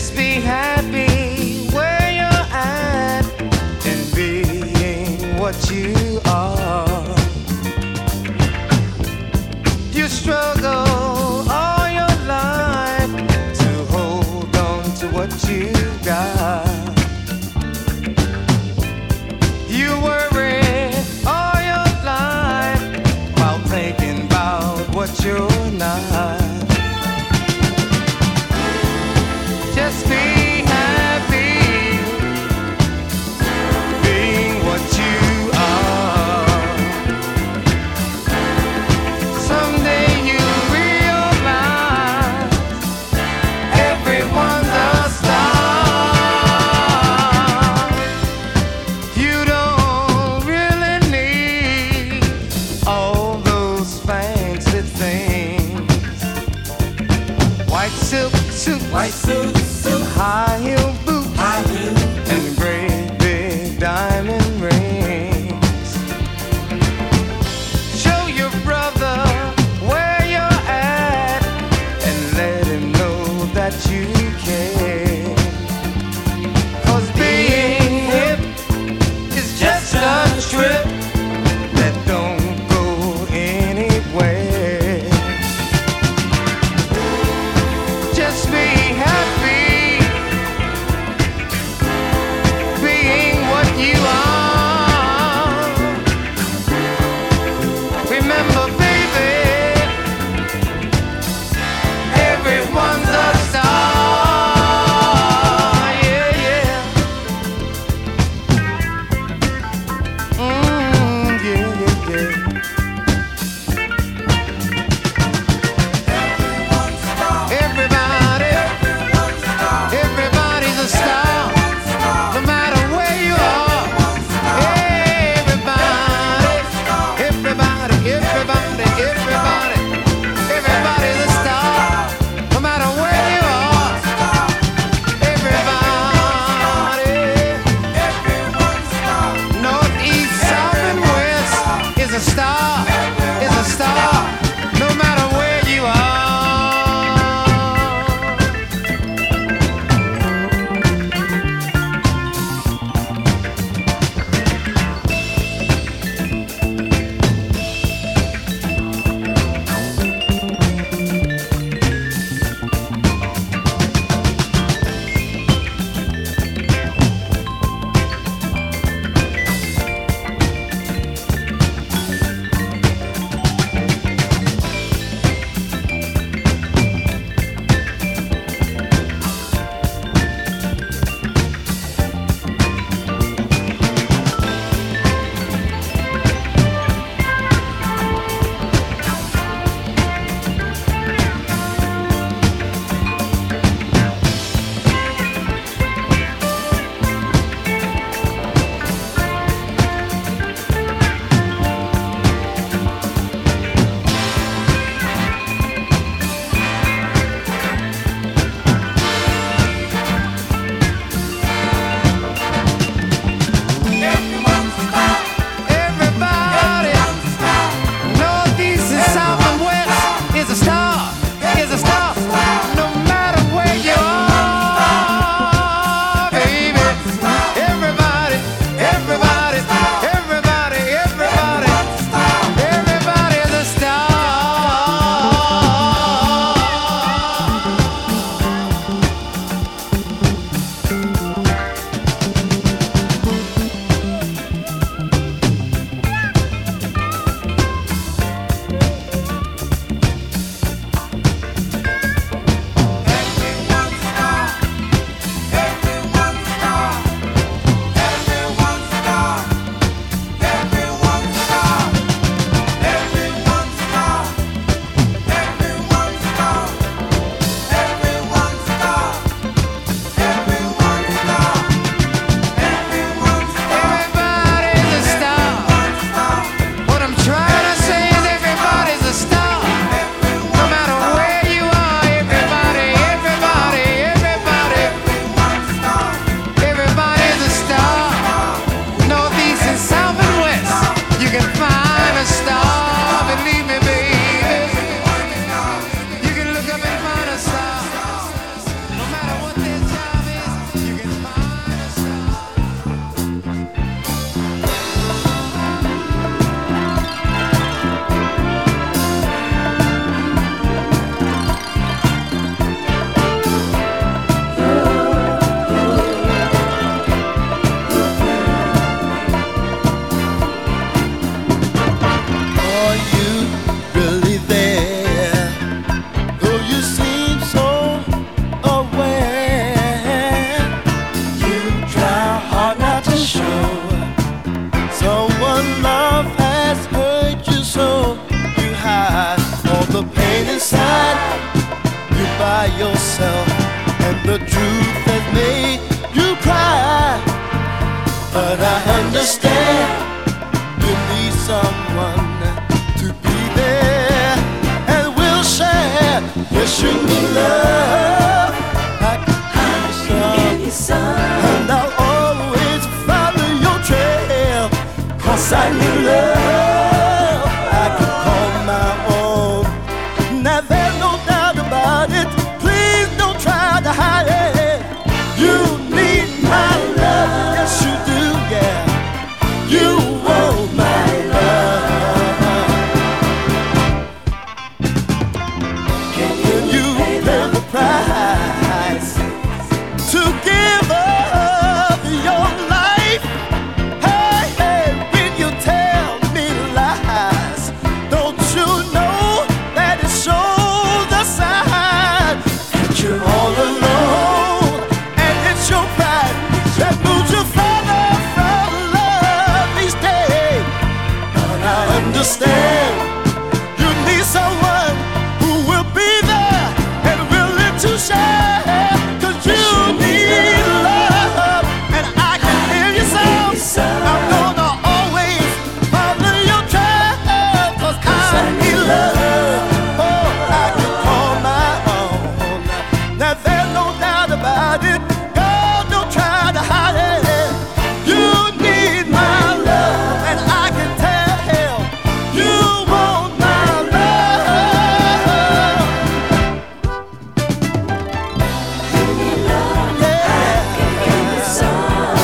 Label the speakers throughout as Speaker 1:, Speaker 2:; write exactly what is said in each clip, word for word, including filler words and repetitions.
Speaker 1: Just be happy where you're at and being what you are. You struggle all your life to hold on to what you got. You worry all your life while thinking about what you're not. Just be happy being what you are. Someday you realize everyone's a star. You don't really need all those fancy things. White silk suit,
Speaker 2: White suit, suit,
Speaker 1: high heel boots,
Speaker 2: high heel,
Speaker 1: and great big diamond rings. Show your brother where you're at and let him know that you care. 'Cause being hip is just a trip that don't go anywhere. Just be happy being what you are. Remember, baby, everyone's a star.
Speaker 2: by yourself, and the truth has made you cry. But I understand you need someone to be there and will share. Yes, you need love. I can give you some, and I'll always follow your trail. 'Cause I need love I can call my own. Now there's no doubt about it. Please don't try to hide it. You need my love. Yes, you do, yeah. You want my love. Can you, Can you pay the price to give up your life? Hey, hey, when you tell me lies, don't you know that it shows the sign that you're all alone, and it's your pride that moves you further from love each day. But I understand you need someone who will be there and willing to share. 'Cause you need love, and I can hear you some. I'm gonna always follow your trail. 'Cause I need love. Oh, I can call my own. Now there's no doubt about it. God, don't try to hide it. You need my love, and I can tell you want my love. You need love, yeah. I can give you some.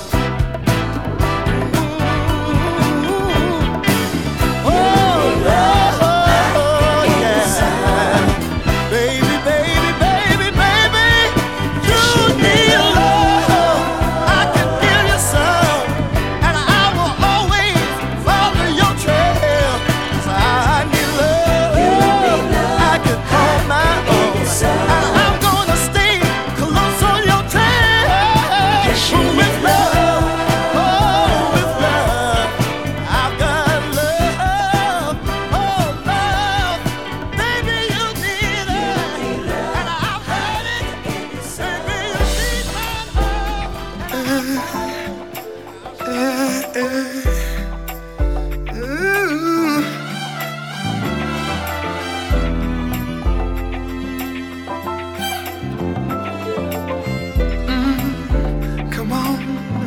Speaker 2: Oh, love, oh, yeah. Baby, baby, baby, baby, you need love. I can give you some, and I will always follow your trail. 'Cause I need love. I can call my own, and I'm gonna stay close on your trail. With love, oh, with love, I've got love. Oh, love, baby, you need it, and I've heard it. Baby, you need my
Speaker 1: Come on,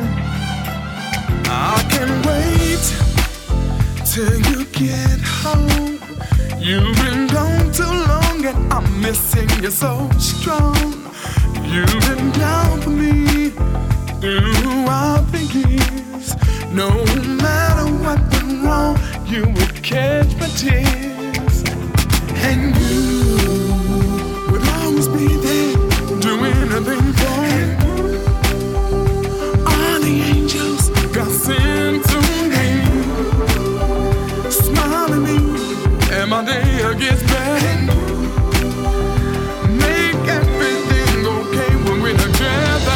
Speaker 1: I can wait till you get home. You've been gone too long and I'm missing you so strong. You've been down for me throughout the years. No matter what went wrong, you would catch my tears. And you would always be there, do anything for me. All the angels got sent to me, smile at me, and my day gets better. Make everything okay when we're together.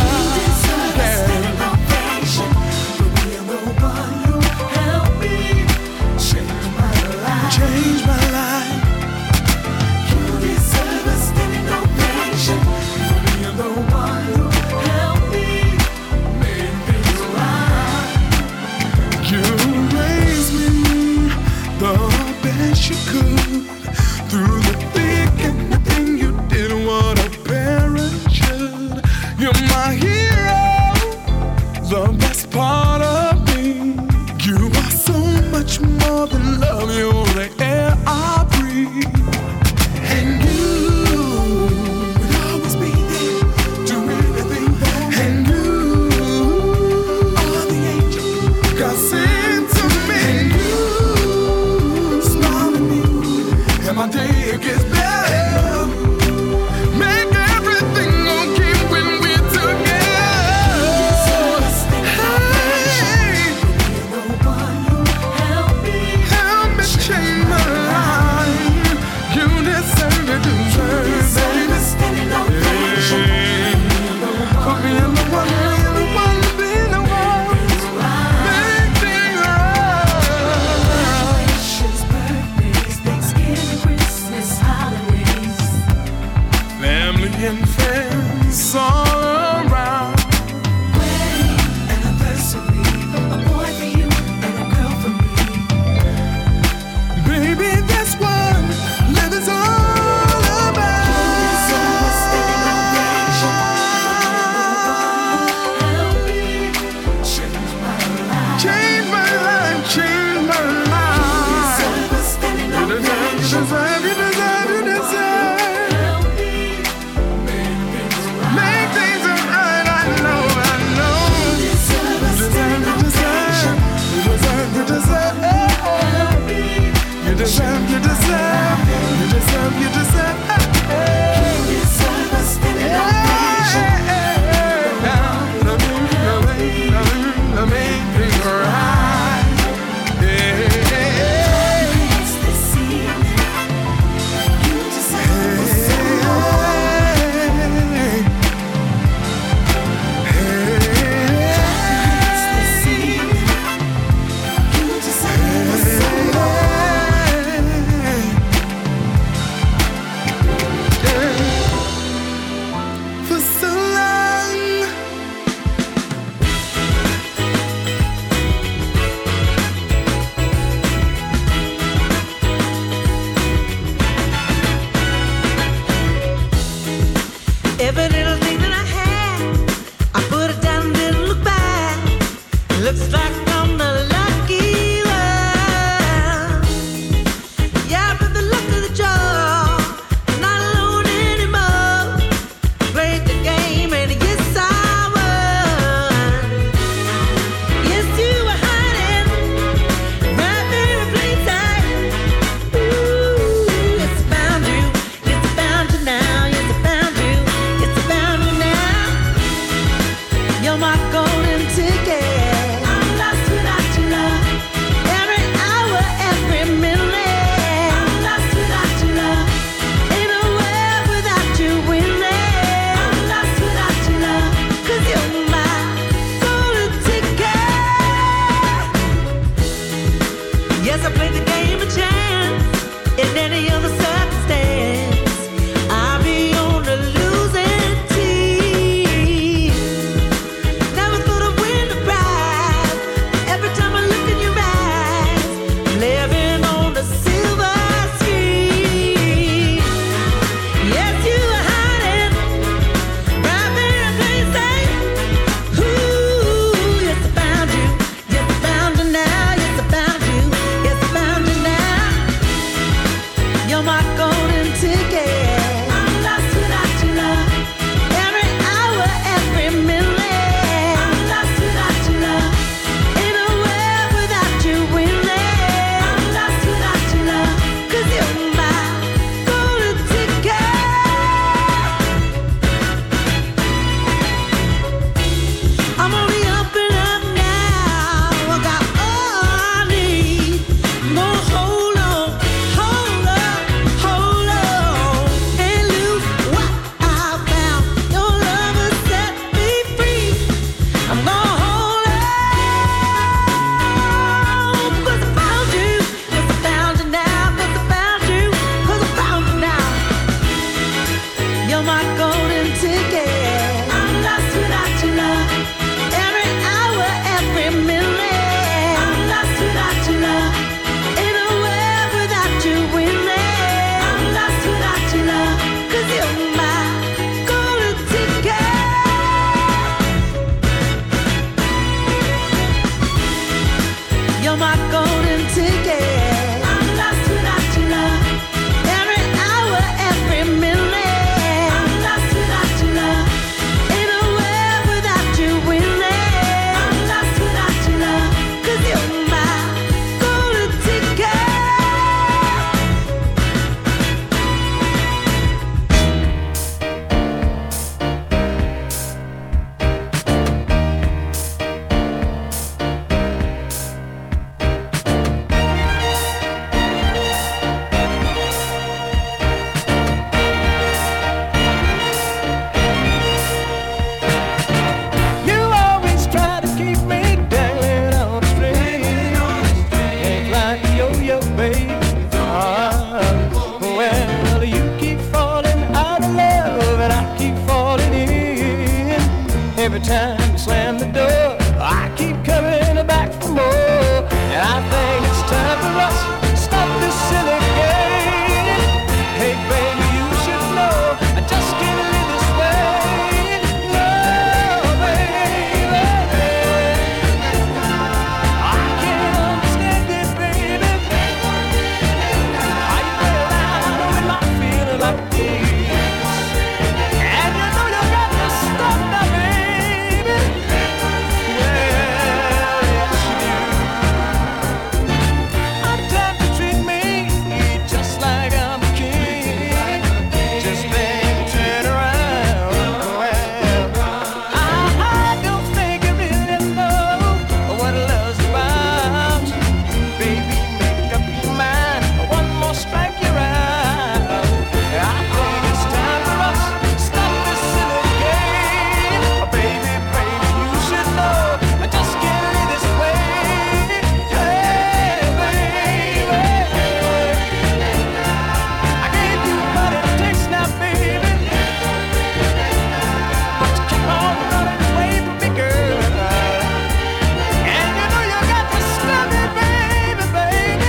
Speaker 1: Change
Speaker 2: million friends all around.
Speaker 3: Wedding anniversary, a boy for you and a girl for me.
Speaker 2: Baby, that's what living's all about.
Speaker 3: Help me change my life.
Speaker 2: Change my life, change my life.
Speaker 3: You deserve a standing
Speaker 2: You deserve, you deserve, you deserve, you deserve.
Speaker 3: Help me make things right.
Speaker 2: Make things right, I know, I know.
Speaker 3: You deserve a
Speaker 2: You deserve,
Speaker 3: standing
Speaker 2: you deserve, you deserve, you deserve.
Speaker 3: Help me.
Speaker 2: You deserve, you deserve, you deserve, you deserve.
Speaker 3: You deserve a standing ovation.
Speaker 2: Make things right.
Speaker 3: It's this evening. You deserve a It's this evening. You deserve a
Speaker 2: For so long.
Speaker 4: Every little thing that I had, I put it down and didn't look back. Looks like I'm the lucky one. Yeah, but the luck of the draw, not alone anymore. Played the game and yes, I won. Yes, you were hiding right there in plain sight. Ooh, it's found you, it's found you now, yes, I found you, it's found
Speaker 1: every time you slam the door, I keep coming back for more. And I think it's time for us to stop this silly game. Hey baby, you should know I just can't live this way. No, baby, I can't understand it, baby. How you get around with my feeling like this? And you know you got to stop that, baby. Well, yes you do. I'm time to treat me just like I'm a king. Just then turn around. Well, I don't think you really know what love's about. Baby, make up your mind. One more strike, you're out. I think it's time for us to stop this silly game. Oh, baby, baby, you should know I just can't live this way. Hey, baby, I gave you what it takes now, baby, but you keep on running away from me, girl. And you know you got to stop it, baby, baby.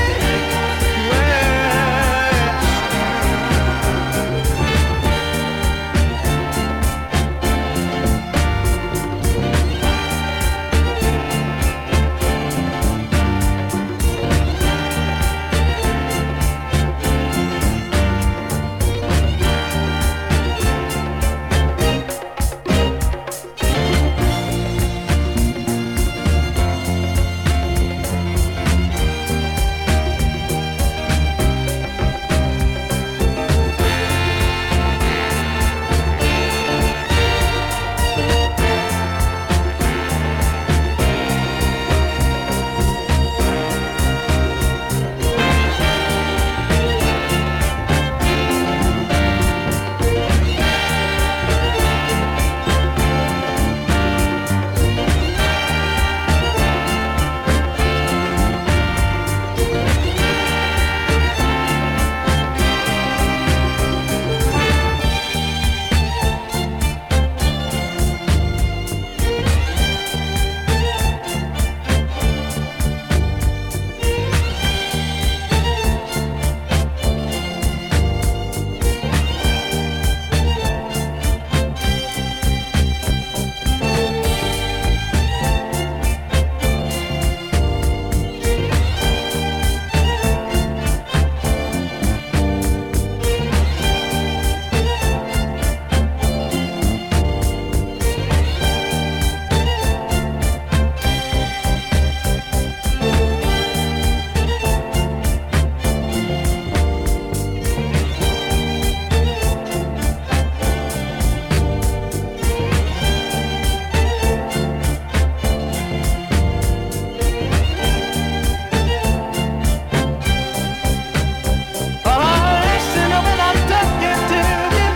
Speaker 1: Listen when I'm talking to you,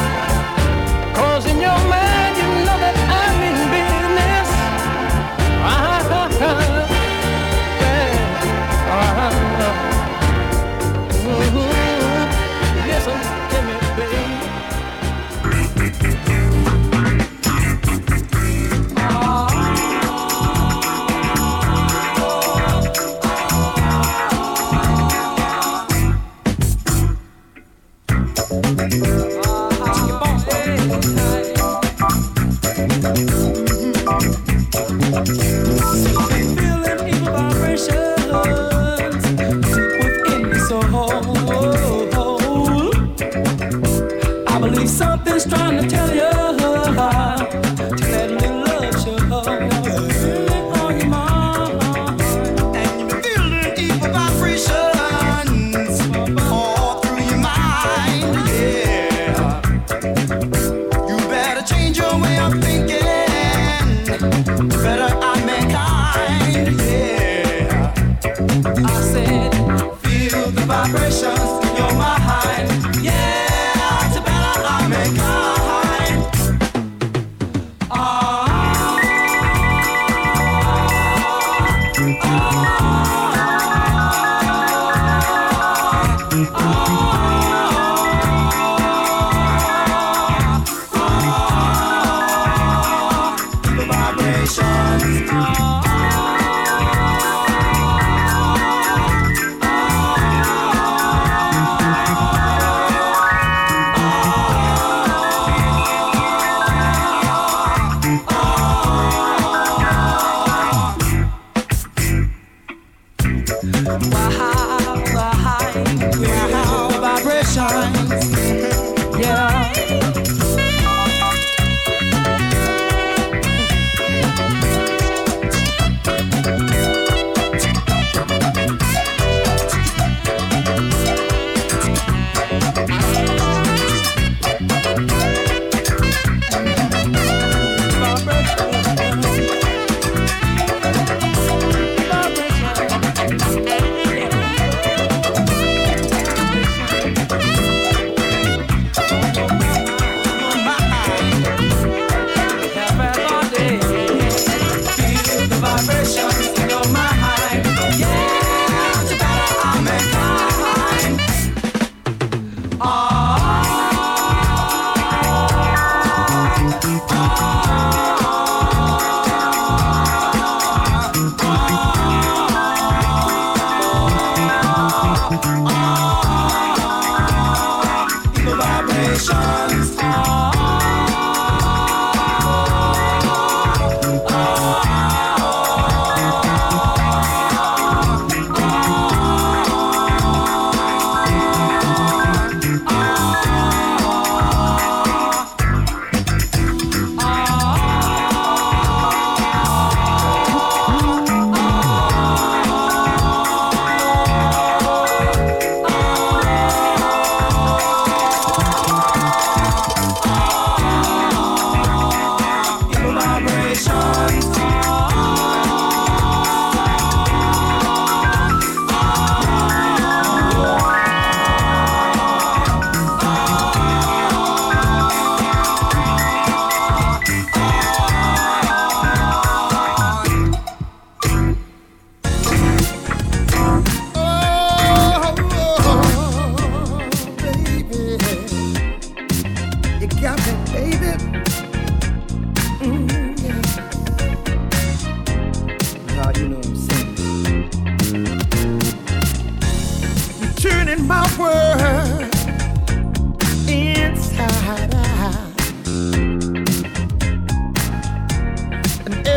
Speaker 1: 'cause in your mind you know that I'm in business. Uh-huh. Yeah. Uh-huh. Ooh. Listen to me, baby.
Speaker 5: Feeling evil vibrations deep within me, so I believe something's trying to tell you to let me love show feeling on your mind.
Speaker 2: And you've been feeling evil vibrations all through your mind, yeah. You better change your way of thinking. Better I mankind, yeah.
Speaker 5: I said,
Speaker 2: Feel the vibrations in your mind, yeah. To better I mankind.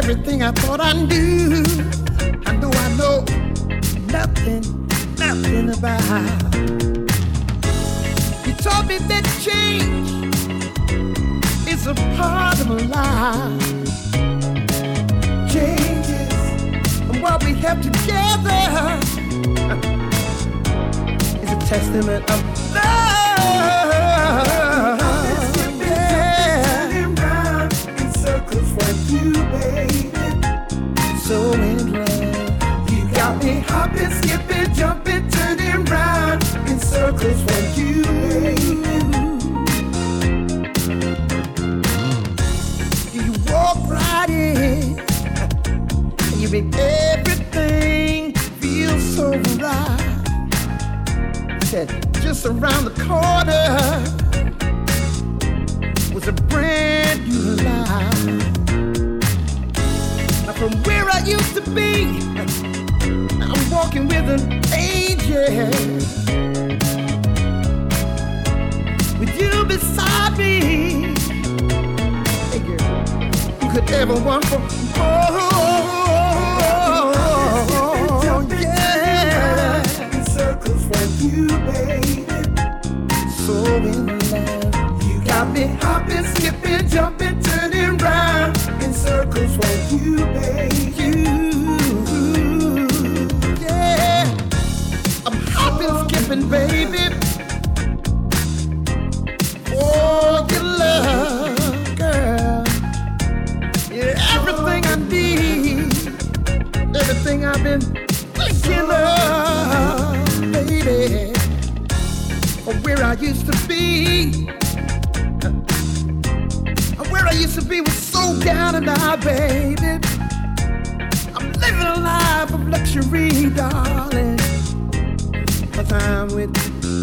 Speaker 2: everything I thought I knew. I know I know nothing, nothing about. You told me that change is a part of life. Changes and what we have together is a testament of love. You, baby, so in love. You got me hopping, skipping, jumping, turning round in circles for you, baby. You walk right in, and you make everything feel so right. Said just around the corner was a brand new life. From where I used to be, I'm walking with an angel. With you beside me, hey girl, who could ever want for more? Oh, yeah. In circles for you, baby. So in love. You got me hopping, skipping, jumping, turning round in circles for you, baby. You, yeah. I'm hopping, skipping, baby. For your love, girl. Yeah, everything I need, everything I've been thinking of, baby. Or where I used to be. Where I used to be was so down and out, baby. I'm living a life of luxury, darling. But I'm with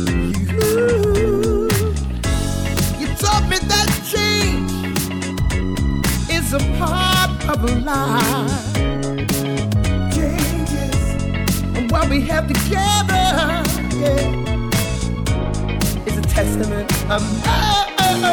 Speaker 2: you. You taught me that change is a part of life. Changes and what we have together, yeah, is a testament of love.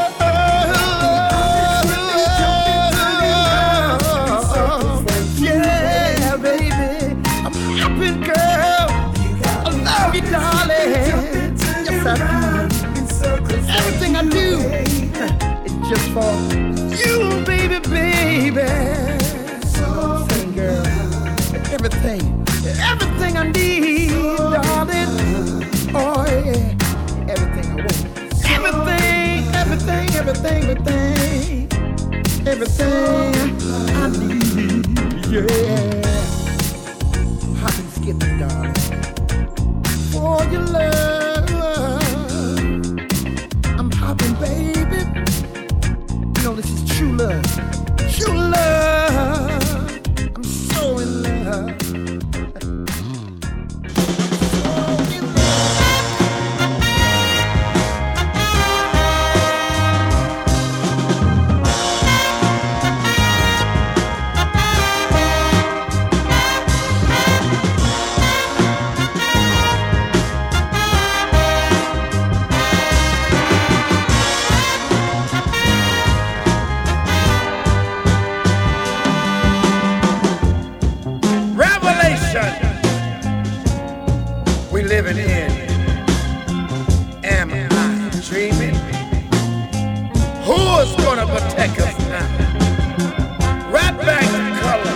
Speaker 2: Darling, yes I do. Everything I do is just for you, baby, baby. So, sing, girl. Everything, everything I need, darling. Oh yeah, everything I want. Everything, everything, everything, everything, everything I need. Yeah. Hop and skip it, darling. For your love, I'm hopping, baby. You know this is true love, true love. I'm so in love.
Speaker 1: Living in, am I dreaming? Who's gonna protect us now? Right back to color,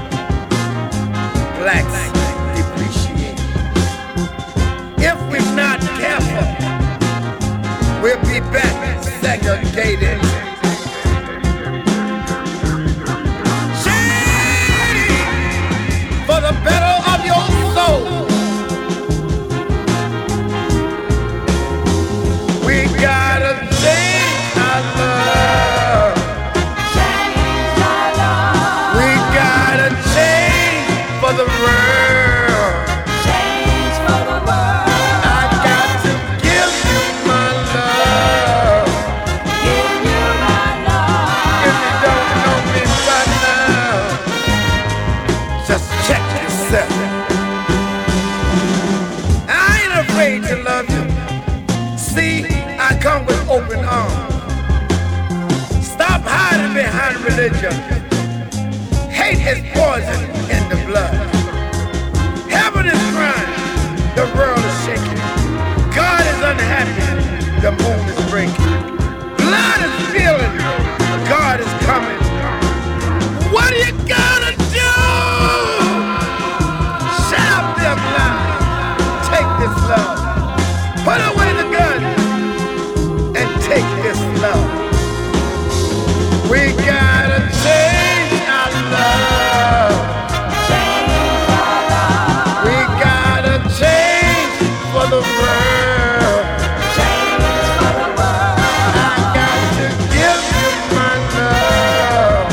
Speaker 1: blacks depreciate. If we're not careful, we'll be back segregated. Change for the better of your soul. Open arms. Stop hiding behind religion.
Speaker 6: Hate is poison in the blood. Heaven is crying, the world is shaking. God is unhappy, the moon is breaking. Blood is feeling, God is coming. What are you gonna do? Shut up them lies. Take this love. Put away the gun and take this love. We gotta change our love. We gotta change for the world. I got to give you my love.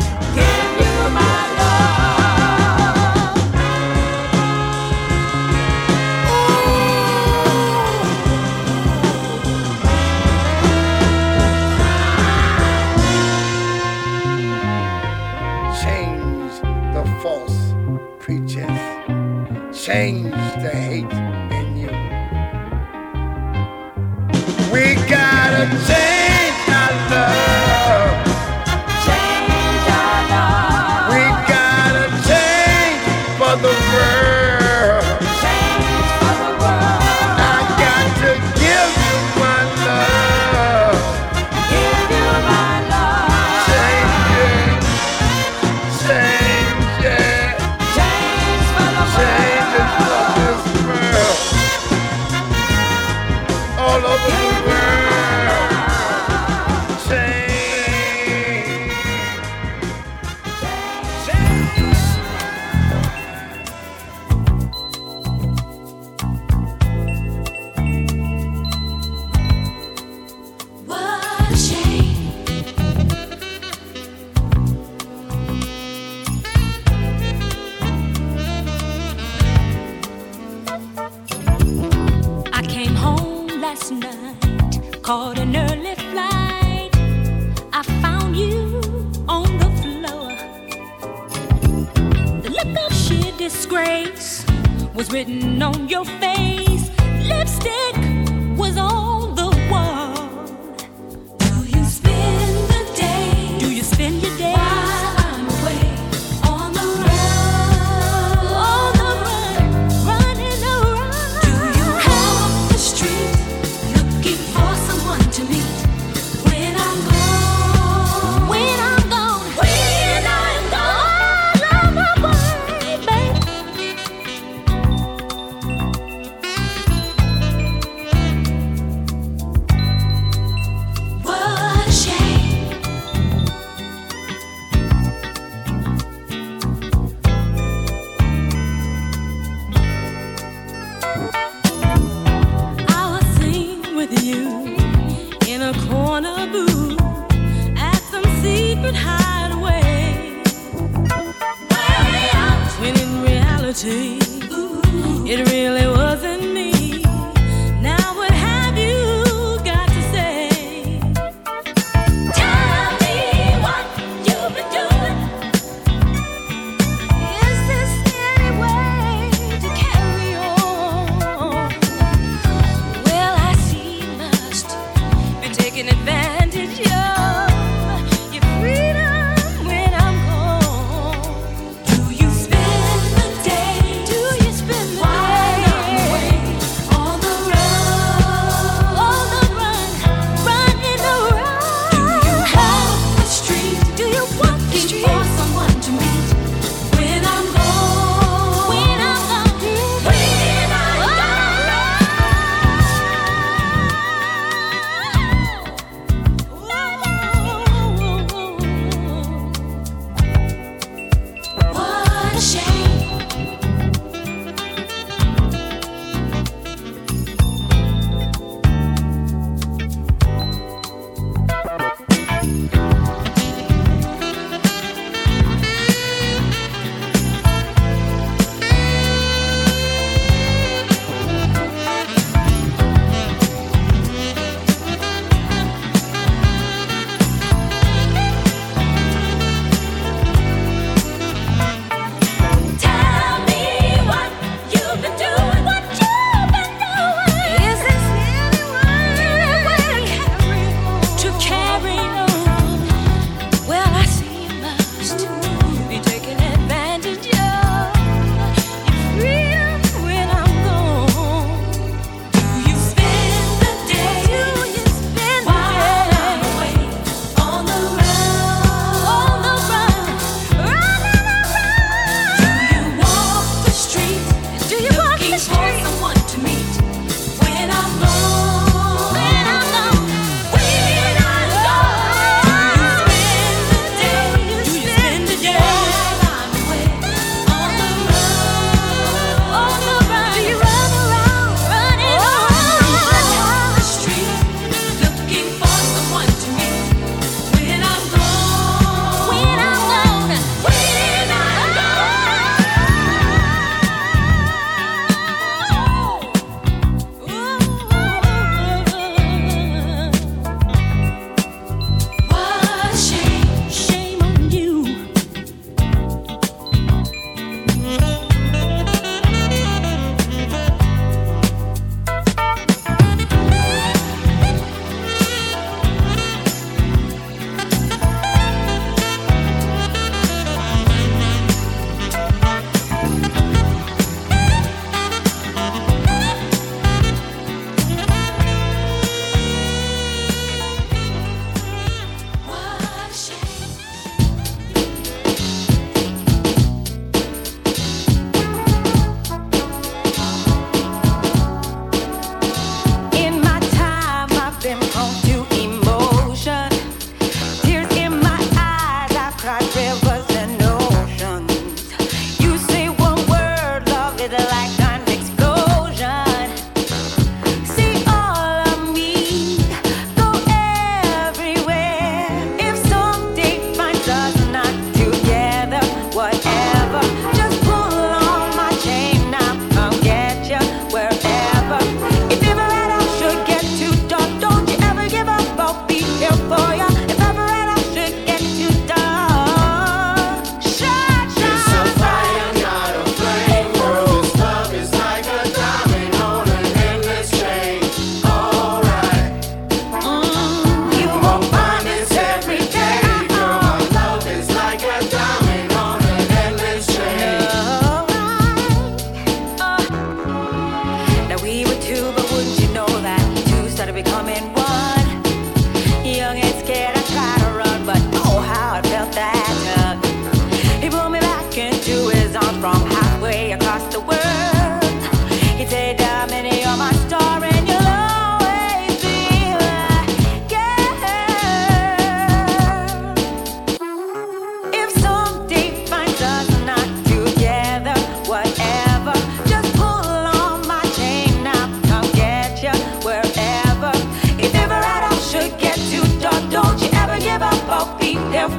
Speaker 6: Change the false preachers. Change the hate in you. We gotta change our love. We gotta change for the world. I got to give you my love. Change it. Change it. Change it for this world. All over the world. Change.
Speaker 3: What a shame.
Speaker 7: I came home last night, caught an early flight. I found you on the floor. The look of sheer disgrace was written on your face. Lipstick was on the wall.
Speaker 3: Do you spend the day
Speaker 7: Do you spend your days
Speaker 3: while I'm away on the run?
Speaker 7: on the run, running around?
Speaker 3: Do you walk the street looking for someone to meet when I'm gone?
Speaker 7: When I'm gone,
Speaker 3: When I'm gone.
Speaker 7: all of my way, baby.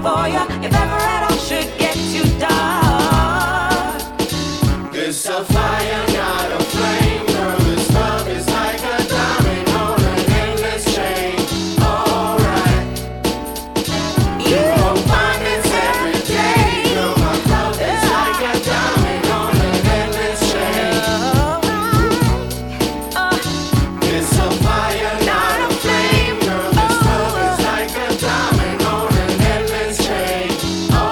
Speaker 4: for you if ever it all should get too dark.
Speaker 8: It's a fire, not a flame. Girl, this love is like a diamond on an endless chain. Alright. You won't find this every day. Girl, my love is like a diamond on an endless chain. It's a fire, not a flame. Girl, this love is like a diamond on an endless chain.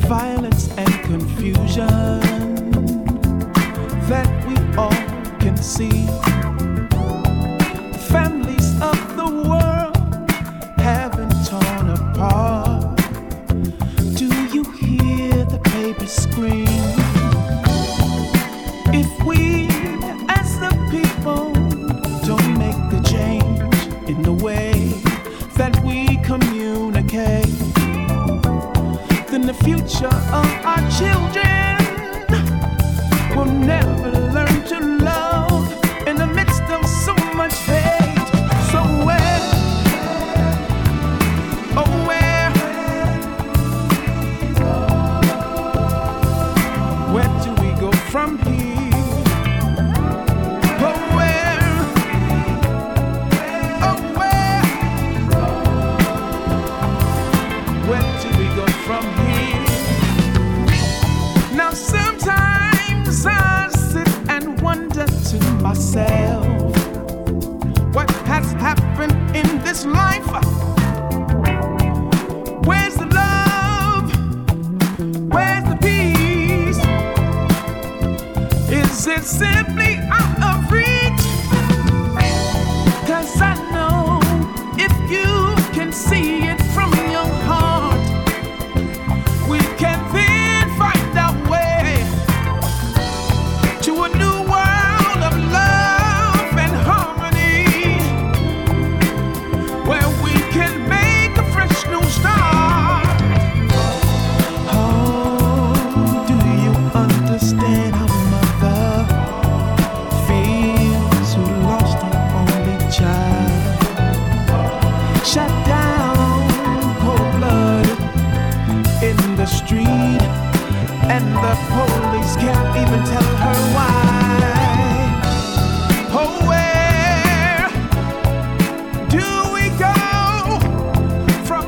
Speaker 9: violence and confusion that we all can see. The families of the world have been torn apart. Do you hear the baby scream? If we as the people don't make a change in the way that we communicate, then the future of our children will never learn to love in the midst of so much hate. So where, oh where, where do we go from here? Oh where, oh where, where do we go from here? Now sometimes I sit and wonder to myself, what has happened in this life? Where's the love? Where's the peace? Is it simply out of reach? 'Cause I know if you can see it from your heart, we can then find our way to a new world of love and harmony, where we can make a fresh new start. Oh, do you understand how mother feels who lost her only child? Shut down, cold-blooded in the street, and the police can't even tell her why. Oh, where do we go from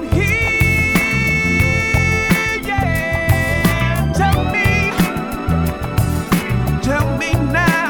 Speaker 9: here? Yeah, tell me, tell me now.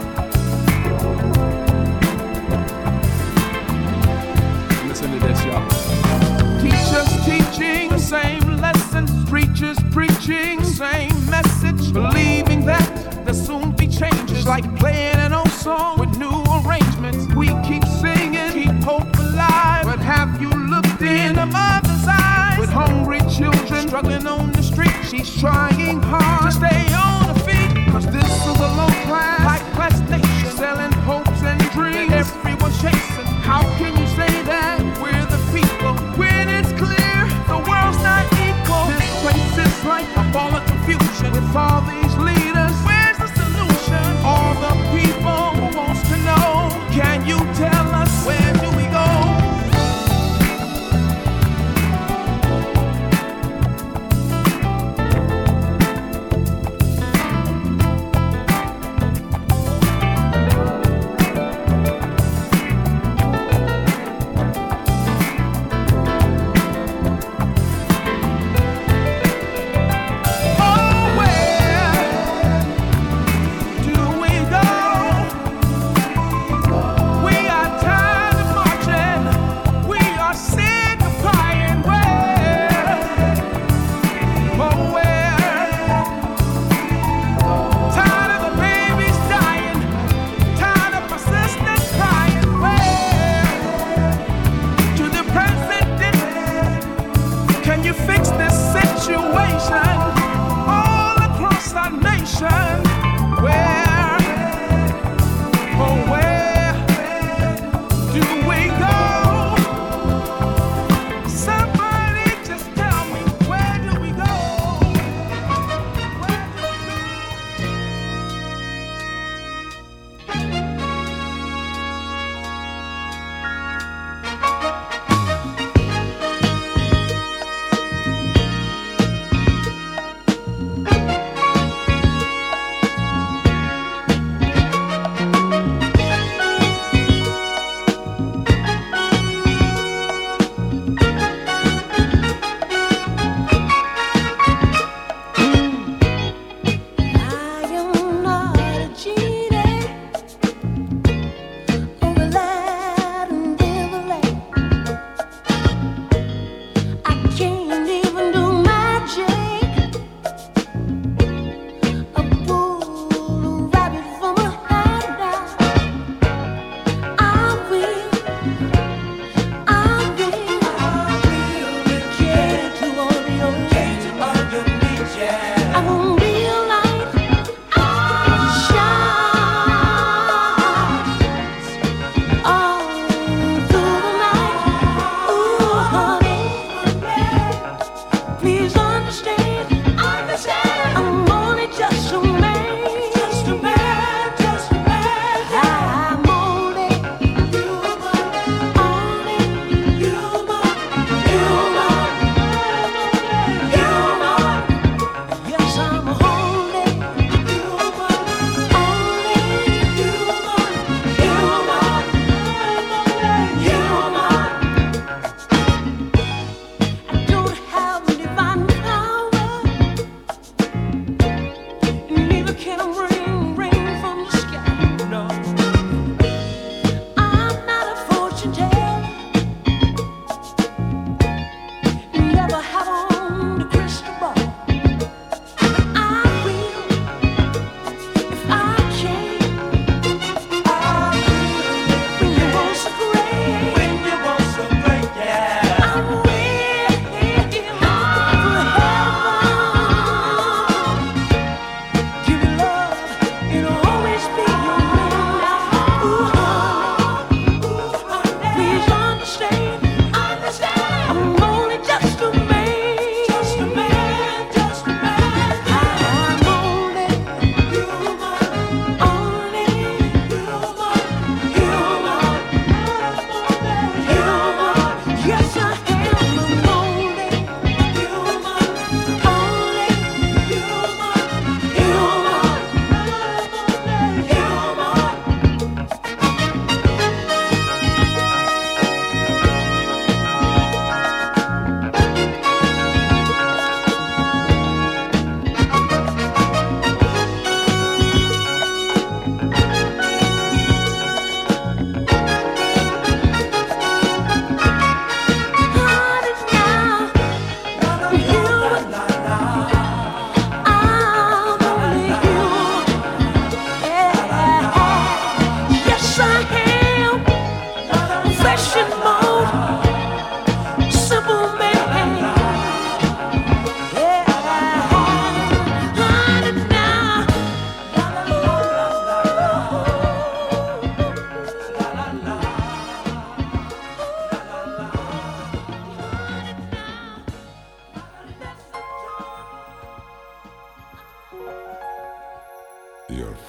Speaker 9: Listen to this, y'all. Teachers teaching same lessons, preachers preaching same message, believing that there'll soon be changes, like playing an old song with new arrangements. We keep singing, keep hope alive, but have you looked in a mother's eyes with hungry children struggling on the street? She's trying hard to stay on her feet, 'cause this is a low class, high class nation, selling hopes and dreams that everyone's chasing. How can you say that we're the people when it's clear the world's not equal? This place is like a ball of confusion with all these leaders. Where's the solution? All the people who wants to know, can you tell us where do we go? Oh, where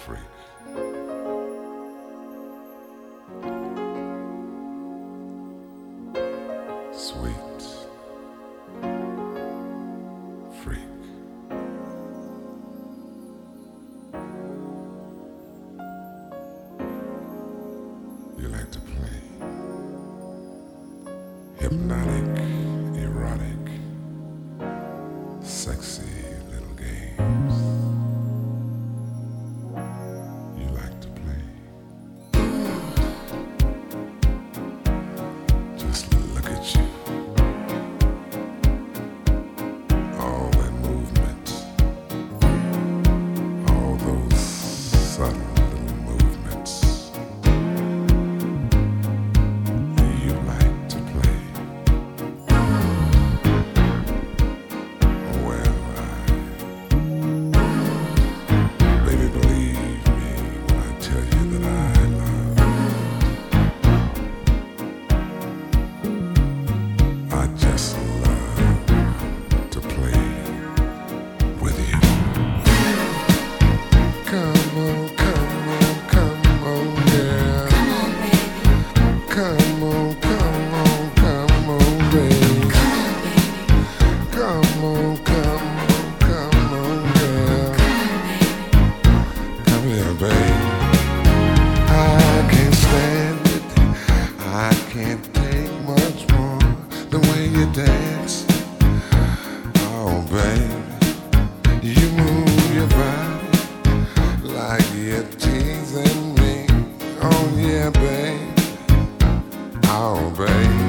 Speaker 10: freak. Sweet freak. You like to play hypnotic, erotic, sexy little games. You like to play. Just look at you. All that movement. All those subtle little movements. You like to play. Well, I, baby, believe me when I tell you that I love. I just love to play with you. Come on, come on, come on, yeah. Come on, come on, come on, baby. Come on, come on, come on, yeah. Come here, baby. I can't stand it. I can't take much more. The way you dance. Oh, baby. You move your body like you're teasing me. Oh, yeah, baby. Oh, baby.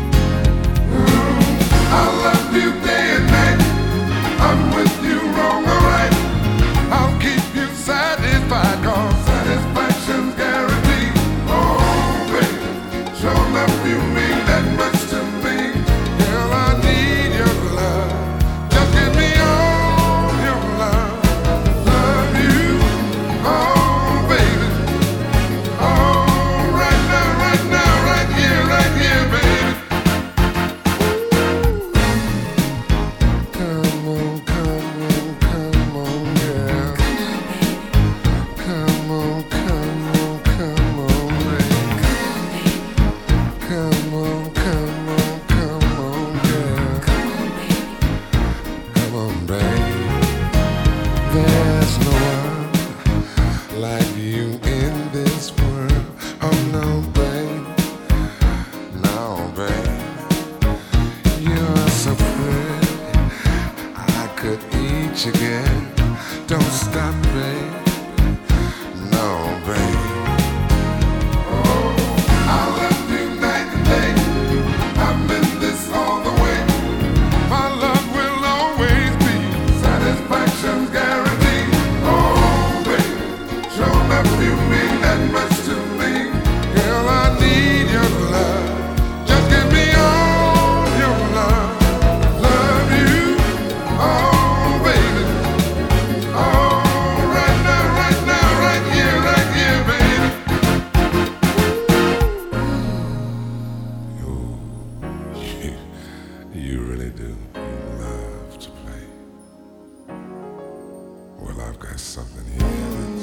Speaker 10: I love you day and night. I'm with you wrong or right. I'll keep you satisfied, cause satisfaction's guaranteed. Oh, baby, sure enough you mean that much to me. Girl, I need your love. Just give me all your love. Love you, oh, baby. Oh, right now, right now, right here, right here, baby. Come on, come on, come on, yeah. Come on, come on, come on, baby. Come on, come on, come on, yeah. Come on, baby. There's no one like you in this world. Oh no, babe. No, babe. You're so pretty. I could eat you again. Don't stop, babe. No, babe. Oh, I love you night and day. I'm in this all the way. My love will always be satisfaction's guaranteed. Oh, baby, sure enough you mean that much to me. Girl, I need your love. Just give me all your love. Love you, oh, baby. Oh, right now, right now, right here, right here, baby. Oh, you, you really do. You love to play. Well, I've got something here.